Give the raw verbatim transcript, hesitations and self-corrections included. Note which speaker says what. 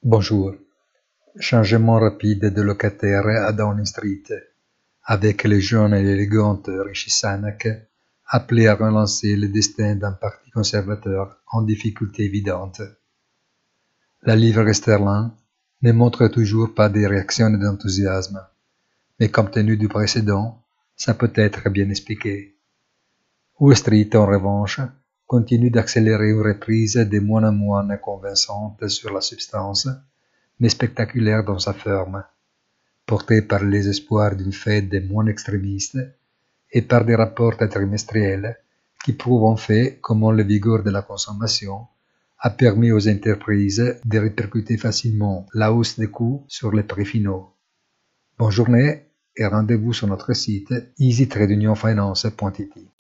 Speaker 1: Bonjour. Changement rapide de locataire à Downing Street, avec le jeune et élégante Rishi Sunak appelé à relancer le destin d'un parti conservateur en difficulté évidente. La livre sterling ne montre toujours pas des réactions d'enthousiasme, mais compte tenu du précédent, ça peut être bien expliqué. Wall Street, en revanche, continue d'accélérer une reprise de moins en moins convaincante sur la substance, mais spectaculaire dans sa forme, portée par les espoirs d'une Fed moins extrémiste et par des rapports trimestriels qui prouvent en fait comment le vigueur de la consommation a permis aux entreprises de répercuter facilement la hausse des coûts sur les prix finaux. Bonne journée et rendez-vous sur notre site easy trade union finance point i t.